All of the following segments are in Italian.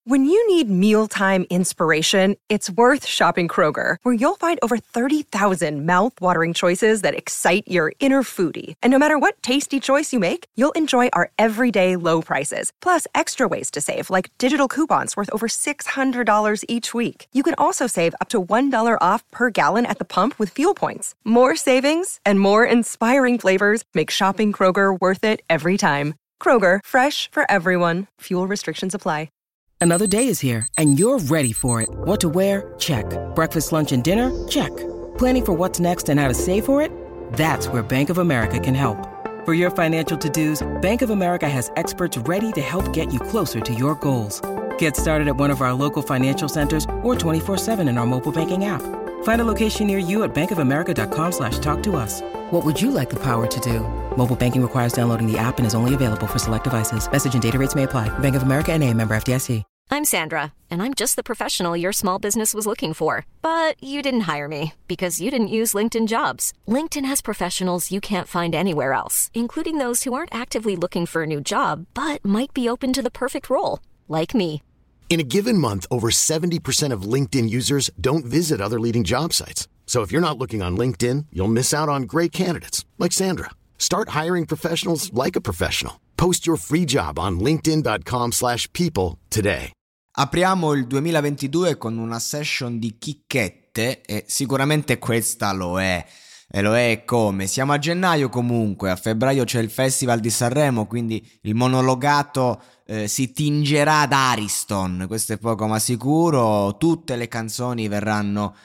When you need mealtime inspiration, it's worth shopping Kroger, where you'll find over 30,000 mouth-watering choices that excite your inner foodie. And no matter what tasty choice you make, you'll enjoy our everyday low prices, plus extra ways to save, like digital coupons worth over $600 each week. You can also save up to $1 off per gallon at the pump with fuel points. More savings and more inspiring flavors make shopping Kroger worth it every time. Kroger, fresh for everyone. Fuel restrictions apply. Another day is here, and you're ready for it. What to wear? Check. Breakfast, lunch, and dinner? Check. Planning for what's next and how to save for it? That's where Bank of America can help. For your financial to-dos, Bank of America has experts ready to help get you closer to your goals. Get started at one of our local financial centers or 24/7 in our mobile banking app. Find a location near you at bankofamerica.com/talktous. What would you like the power to do? Mobile banking requires downloading the app and is only available for select devices. Message and data rates may apply. Bank of America N.A., member FDIC. I'm Sandra, and I'm just the professional your small business was looking for. But you didn't hire me because you didn't use LinkedIn Jobs. LinkedIn has professionals you can't find anywhere else, including those who aren't actively looking for a new job, but might be open to the perfect role, like me. In a given month, over 70% of LinkedIn users don't visit other leading job sites. So if you're not looking on LinkedIn, you'll miss out on great candidates like Sandra. Start hiring professionals like a professional. Post your free job on linkedin.com/people today. Apriamo il 2022 con una session di chicchette e sicuramente questa lo è. E lo è come? Siamo a gennaio comunque, a febbraio c'è il Festival di Sanremo, quindi il monologato si tingerà ad Ariston, questo è poco ma sicuro. Tutte le canzoni verranno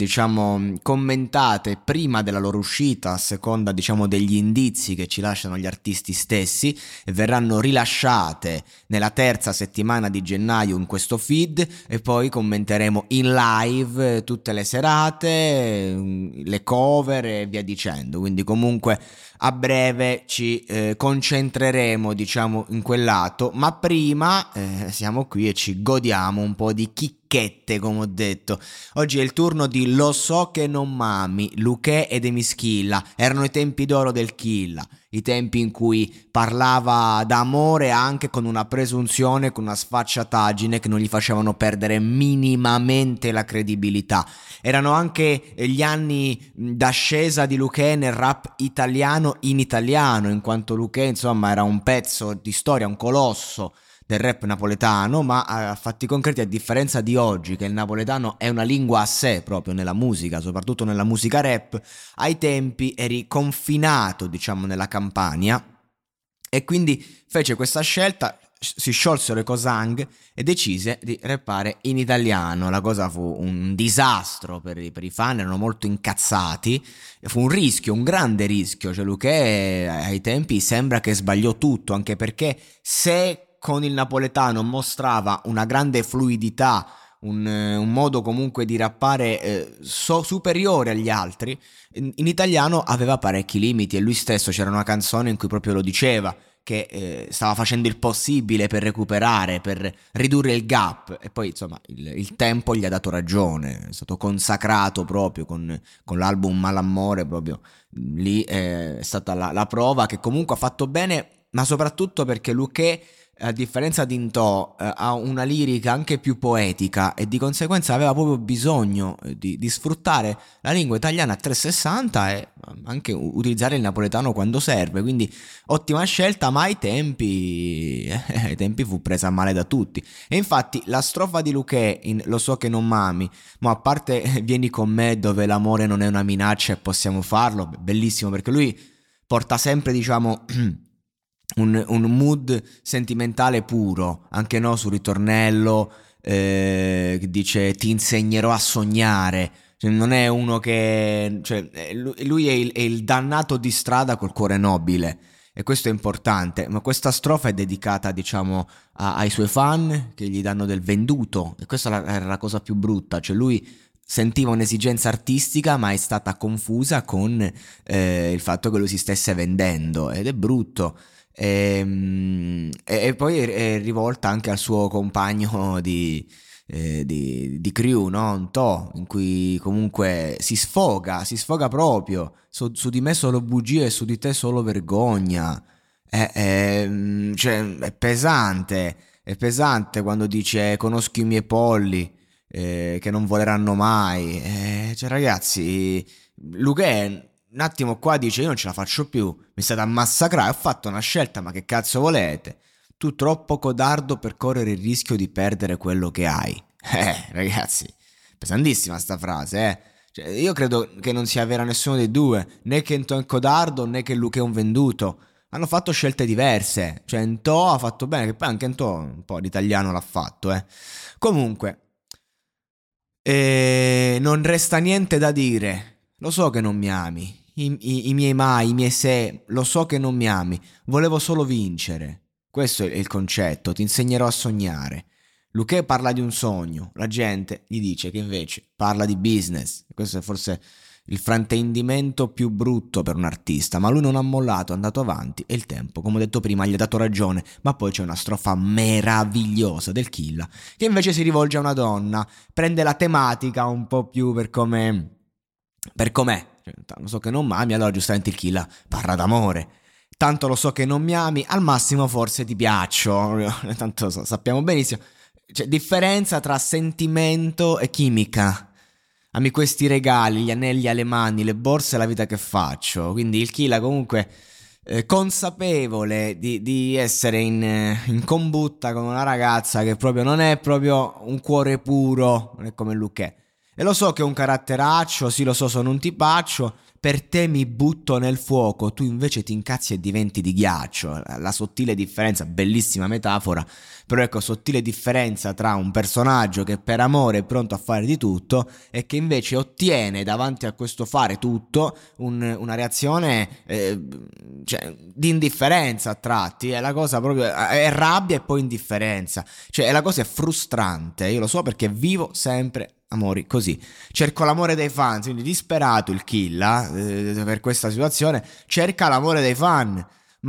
commentate prima della loro uscita, a seconda degli indizi che ci lasciano gli artisti stessi, e verranno rilasciate nella terza settimana di gennaio in questo feed, e poi commenteremo in live tutte le serate, le cover e via dicendo. Quindi comunque a breve ci concentreremo in quel lato, ma prima siamo qui e ci godiamo un po' di chicchette, come ho detto. Oggi è il turno di Lo so che non mami, Luchè ed Emischilla. Erano i tempi d'oro del Killa, i tempi in cui parlava d'amore anche con una presunzione, con una sfacciataggine che non gli facevano perdere minimamente la credibilità. Erano anche gli anni d'ascesa di Luchè nel rap italiano in italiano, in quanto Luchè era un pezzo di storia, un colosso del rap napoletano, ma a fatti concreti, a differenza di oggi che il napoletano è una lingua a sé proprio nella musica, soprattutto nella musica rap, ai tempi eri confinato nella Campania, e quindi fece questa scelta, si sciolsero i Cosang e decise di rappare in italiano. La cosa fu un disastro per i fan, erano molto incazzati, fu un rischio, un grande rischio. Luchè ai tempi sembra che sbagliò tutto, anche perché se con il napoletano mostrava una grande fluidità, un modo comunque di rappare superiore agli altri, in italiano aveva parecchi limiti, e lui stesso, c'era una canzone in cui proprio lo diceva, che stava facendo il possibile per recuperare, per ridurre il gap, e poi il tempo gli ha dato ragione, è stato consacrato proprio con l'album Malamore, proprio lì è stata la prova che comunque ha fatto bene, ma soprattutto perché Luchè, a differenza di Ntò, ha una lirica anche più poetica, e di conseguenza aveva proprio bisogno di sfruttare la lingua italiana a 360 e anche utilizzare il napoletano quando serve. Quindi ottima scelta, ma ai tempi fu presa male da tutti. E infatti la strofa di Luchè in Lo so che non mami, ma a parte vieni con me dove l'amore non è una minaccia e possiamo farlo, bellissimo, perché lui porta sempre un mood sentimentale puro, anche sul ritornello che dice ti insegnerò a sognare, non è uno che lui è il dannato di strada col cuore nobile, e questo è importante. Ma questa strofa è dedicata ai suoi fan che gli danno del venduto, e questa era la cosa più brutta, lui sentiva un'esigenza artistica ma è stata confusa con il fatto che lui si stesse vendendo, ed è brutto. E poi è rivolta anche al suo compagno di crew, no? Ntò, in cui comunque si sfoga proprio su di me solo bugie e su di te solo vergogna. È pesante, È pesante quando dice conosco i miei polli che non voleranno mai. Cioè ragazzi, Luque un attimo qua dice io non ce la faccio più, mi state a massacrare, ho fatto una scelta, ma che cazzo volete? Tu troppo codardo per correre il rischio di perdere quello che hai. Ragazzi, pesantissima sta frase, Cioè, io credo che non sia vera nessuno dei due, né che Ntò è un codardo né che Luque è un venduto. Hanno fatto scelte diverse, cioè Ntò ha fatto bene, che poi anche Ntò un po' l'italiano l'ha fatto, Comunque, non resta niente da dire. Lo so che non mi ami, i miei mai, i miei se, lo so che non mi ami, volevo solo vincere. Questo è il concetto, ti insegnerò a sognare. Luque parla di un sogno, la gente gli dice che invece parla di business. Questo è forse il fraintendimento più brutto per un artista, ma lui non ha mollato, è andato avanti e il tempo, come ho detto prima, gli ha dato ragione. Ma poi c'è una strofa meravigliosa del Killa che invece si rivolge a una donna, prende la tematica un po' più per com'è. Cioè, lo so che non mi ami, allora giustamente il Killa parla d'amore. Tanto lo so che non mi ami, al massimo forse ti piaccio. Tanto sappiamo benissimo. C'è differenza tra sentimento e chimica. Ami questi regali, gli anelli alle mani, le borse e la vita che faccio. Quindi il Killa comunque consapevole di essere in combutta con una ragazza che proprio non è proprio un cuore puro, non è come Luque. E lo so che ho un caratteraccio, sì lo so, sono un tipaccio, per te mi butto nel fuoco, tu invece ti incazzi e diventi di ghiaccio. La sottile differenza, bellissima metafora, però ecco, sottile differenza tra un personaggio che per amore è pronto a fare di tutto e che invece ottiene davanti a questo fare tutto una reazione cioè, di indifferenza a tratti. È la cosa proprio, è rabbia e poi indifferenza, cioè la cosa è frustrante. Io lo so perché vivo sempre amori così, cerco l'amore dei fan, quindi disperato il Killa per questa situazione, cerca l'amore dei fan,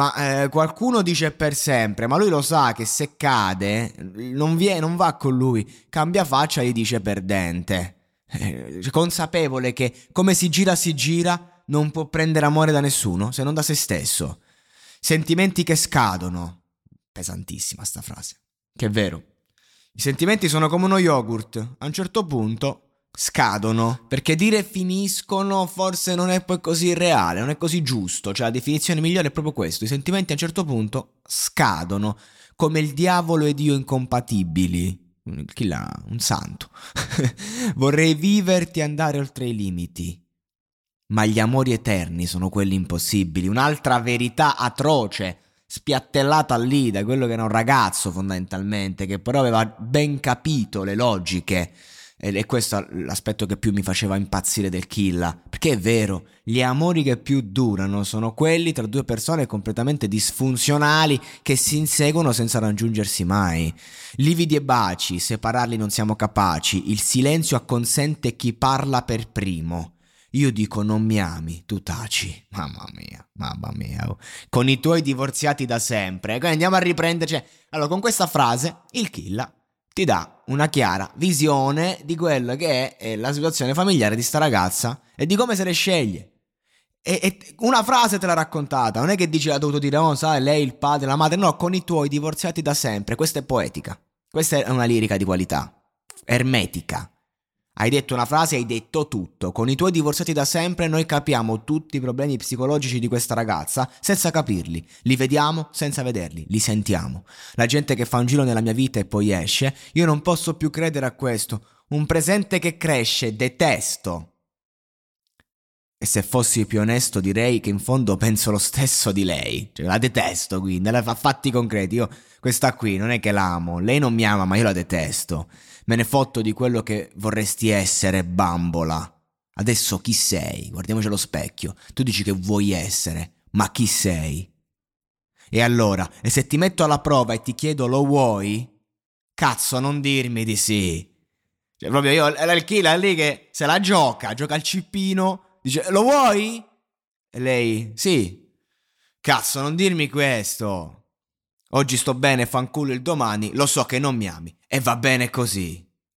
ma qualcuno dice per sempre, ma lui lo sa che se cade non va con lui, cambia faccia e gli dice perdente, consapevole che come si gira non può prendere amore da nessuno se non da se stesso. Sentimenti che scadono, pesantissima sta frase, che è vero. I sentimenti sono come uno yogurt, a un certo punto scadono, perché dire finiscono forse non è poi così reale, non è così giusto, cioè la definizione migliore è proprio questo, i sentimenti a un certo punto scadono, come il diavolo ed io incompatibili. Chi l'ha? Un santo. Vorrei viverti e andare oltre i limiti, ma gli amori eterni sono quelli impossibili, un'altra verità atroce, spiattellata lì da quello che era un ragazzo fondamentalmente, che però aveva ben capito le logiche, e questo è l'aspetto che più mi faceva impazzire del Killa, perché è vero, gli amori che più durano sono quelli tra due persone completamente disfunzionali che si inseguono senza raggiungersi mai. Lividi e baci, separarli non siamo capaci, il silenzio acconsente chi parla per primo. Io dico non mi ami, tu taci. Mamma mia. Con i tuoi divorziati da sempre. Quindi andiamo a riprenderci. Allora, con questa frase, il Killa ti dà una chiara visione di quello che è la situazione familiare di sta ragazza e di come se le sceglie. E una frase te l'ha raccontata, non è che dici l'ha dovuto dire, oh, sai, lei, il padre, la madre. No, con i tuoi divorziati da sempre. Questa è poetica. Questa è una lirica di qualità. Ermetica. Hai detto una frase, hai detto tutto. Con i tuoi divorziati da sempre noi capiamo tutti i problemi psicologici di questa ragazza senza capirli. Li vediamo senza vederli, li sentiamo. La gente che fa un giro nella mia vita e poi esce, io non posso più credere a questo. Un presente che cresce, detesto. E se fossi più onesto direi che in fondo penso lo stesso di lei. Cioè, la detesto, quindi, la fa fatti concreti. Io questa qui non è che l'amo, lei non mi ama, ma io la detesto. Me ne fotto di quello che vorresti essere, bambola. Adesso chi sei? Guardiamoci allo specchio. Tu dici che vuoi essere, ma chi sei? E allora, e se ti metto alla prova e ti chiedo lo vuoi? Cazzo, non dirmi di sì. Cioè, proprio io, il Killa è lì che se la gioca al cippino, dice, lo vuoi? E lei, sì. Cazzo, non dirmi questo. Oggi sto bene, fanculo il domani, lo so che non mi ami. E va bene così.